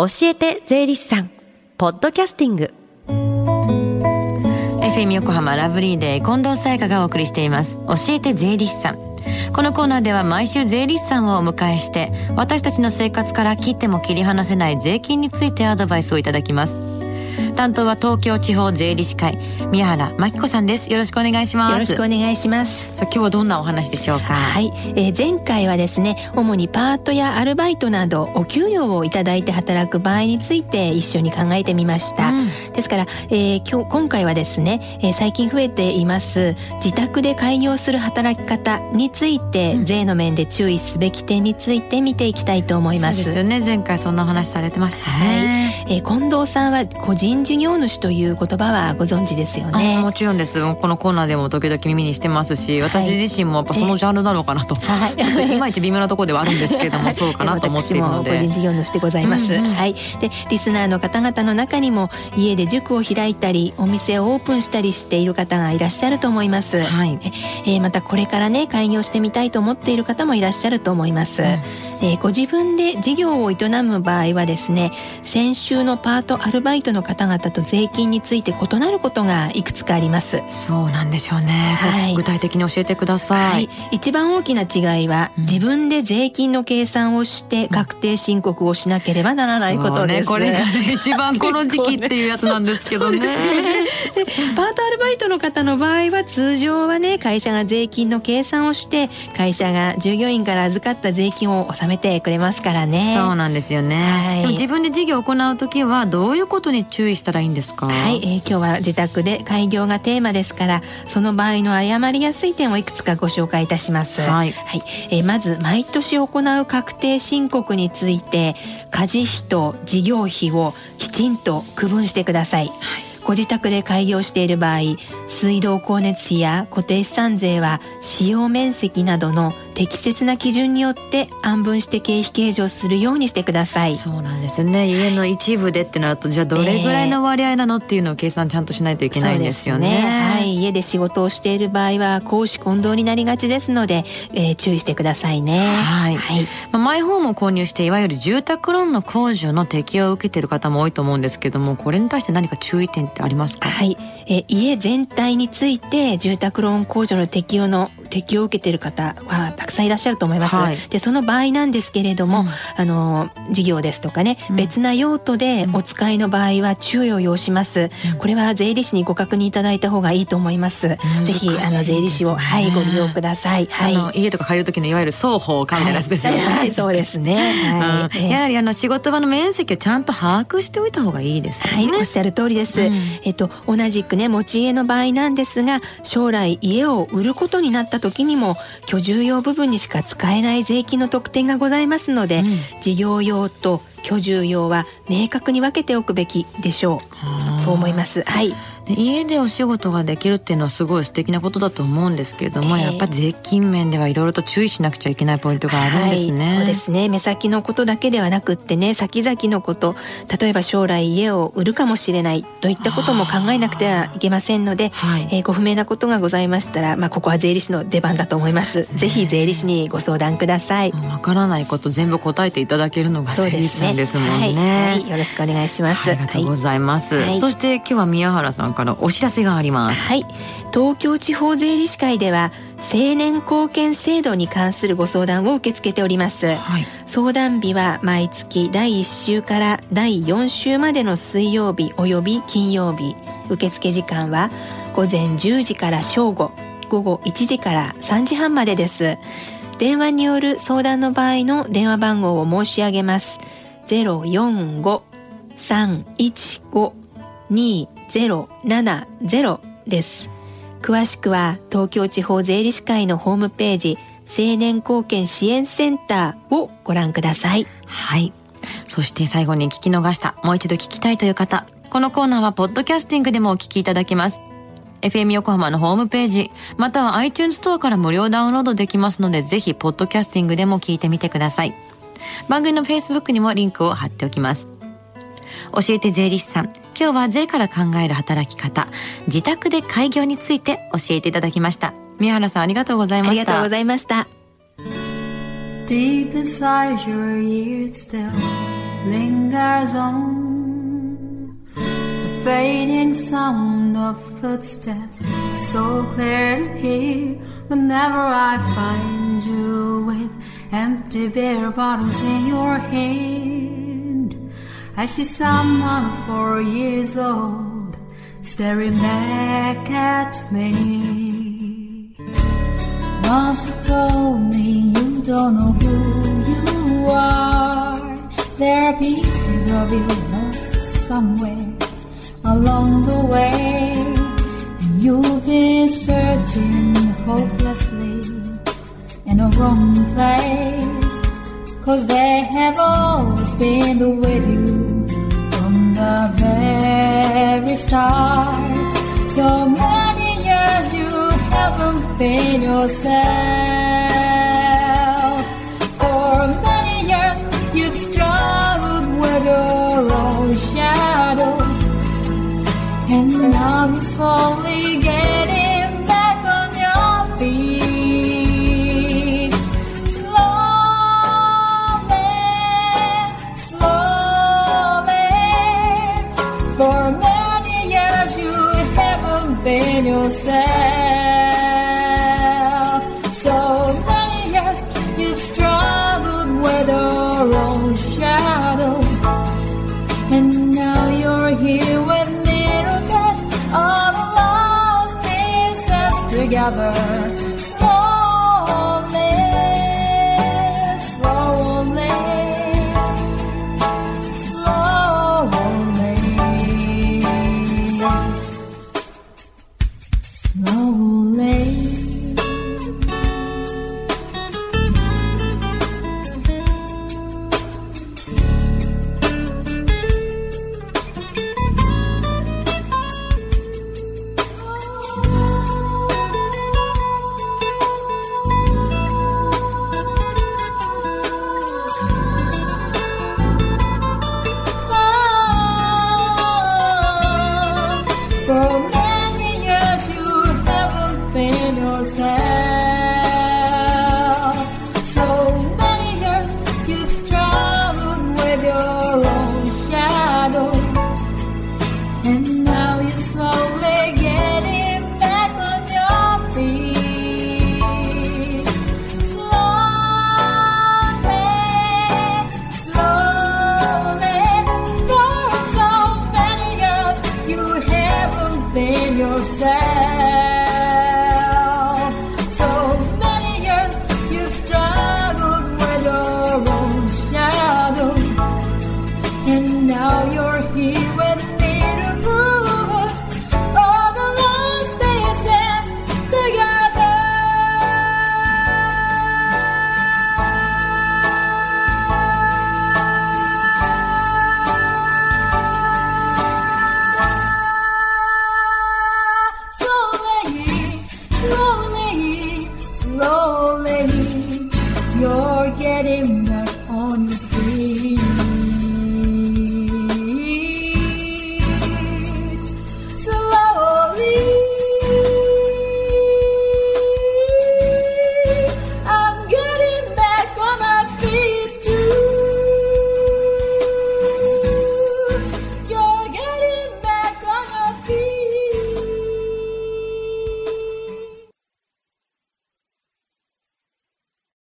教えて税理士さんポッドキャスティング。 FM 横浜ラブリーデー近藤沙耶香がお送りしています教えて税理士さん。このコーナーでは毎週税理士さんをお迎えして私たちの生活から切っても切り離せない税金についてアドバイスをいただきます。担当は東京地方税理士会宮原真紀子さんです。よろしくお願いします。 よろしくお願いします。 さあ今日はどんなお話でしょうか。 はい、前回はですね、主にパートやアルバイトなどお給料をいただいて働く場合について一緒に考えてみました、ですから、今回はですね、最近増えています自宅で開業する働き方について、税の面で注意すべき点について見ていきたいと思います。 そうですよね、前回そんな話されてましたね。 近藤さんは個人事業主という言葉はご存知ですよね。 もちろんです。このコーナーでも時々耳にしてますし、私自身もやっぱそのジャンルなのかなと、いまいち微妙なところではあるんですけれども、そうかなと思っているので。 私も個人事業主でございます、はい。でリスナーの方々の中にも家で塾を開いたりお店をオープンしたりしている方がいらっしゃると思います、またこれからね開業してみたいと思っている方もいらっしゃると思います、ご自分で事業を営む場合はですね、先週のパートアルバイトの方々と税金について異なることがいくつかあります。 そうなんでしょうね、具体的に教えてください。 一番大きな違いは、自分で税金の計算をして確定申告をしなければならないことです、 これが、一番この時期っていうやつなんですけどねパートアルバイトの方の場合は通常はね、会社が税金の計算をして会社が従業員から預かった税金を納めてくれますからね。 そうなんですよね、でも自分で事業を行うときはどういうことに注意したらいいんですか。 今日は自宅で開業がテーマですから、その場合の誤りやすい点をいくつかご紹介いたします、まず毎年行う確定申告について家事費と事業費をきちんと区分してください、ご自宅で開業している場合、水道光熱費や固定資産税は使用面積などの適切な基準によって案分して経費計上するようにしてください。 そうなんですよね。家の一部でってなると、じゃあどれぐらいの割合なのっていうのを計算ちゃんとしないといけないんですよね。 家で仕事をしている場合は公私混同になりがちですので、注意してくださいね。 マイホームを購入していわゆる住宅ローンの控除の適用を受けている方も多いと思うんですけども、これに対して何か注意点ってありますか。 家全体について住宅ローン控除の適用を受けている方はたくさんいらっしゃると思います、でその場合なんですけれども、事業ですとかね、別な用途でお使いの場合は注意を要します、これは税理士にご確認いただいた方がいいと思います。ぜひ税理士を、ご利用ください、 家とか借りる時のいわゆる双方かみたいなやつですよね、 そうですね、 やはり仕事場の面積をちゃんと把握しておいた方がいいですよね。 おっしゃる通りです、同じくね持ち家の場合なんですが、将来家を売ることになった時にも居住用部分にしか使えない税金の特典がございますので、事業用と居住用は明確に分けておくべきでしょう。そう思います。 家でお仕事ができるっていうのはすごい素敵なことだと思うんですけれども、やっぱり税金面ではいろいろと注意しなくちゃいけないポイントがあるんですね。 そうですね。目先のことだけではなくってね、先々のこと、例えば将来家を売るかもしれないといったことも考えなくてはいけませんので、ご不明なことがございましたら、ここは税理士の出番だと思います。ぜひ税理士にご相談ください。 わからないこと全部答えていただけるのが税理士さんですもんね。 よろしくお願いします。 ありがとうございます、そして今日は宮原さんからお知らせがあります。 東京地方税理士会では成年後見制度に関するご相談を受け付けております、相談日は毎月第1週から第4週までの水曜日および金曜日、受付時間は午前10時から正午、午後1時から3時半までです。電話による相談の場合の電話番号を申し上げます。 045-315-2070 です。詳しくは東京地方税理士会のホームページ成年後見支援センターをご覧ください。 そして最後に聞き逃した、もう一度聞きたいという方、このコーナーはポッドキャスティングでもお聞きいただけます。FM 横浜のホームページまたは iTunes ストアから無料ダウンロードできますので、ぜひポッドキャスティングでも聞いてみてください。番組の Facebook にもリンクを貼っておきます。教えて税理士さん、今日は税から考える働き方、自宅で開業について教えていただきました。宮原さん、ありがとうございました。 ありがとうございました。 Deep inside your ears still lingers on. The fading sound of footsteps, so clear to hear whenever I find you with empty beer bottles in your hand. I see someone 4 years old staring back at me. Once you told me you don't know who you are. There are pieces of you lost somewhere along the way, and you've been searching hopelessly in a wrong place, 'cause they have always been with you from the very start. So many years you haven't been yourself. For many years you've struggled with your own shadow, and now you're slowly getting back on your feet. Slowly, slowly. For many years you haven't been yourself. So many years you've struggled with your own shadow, and now you're here with me, all the lost pieces together. Slowly, slowly, slowly, slowly. And now you're here with me to prove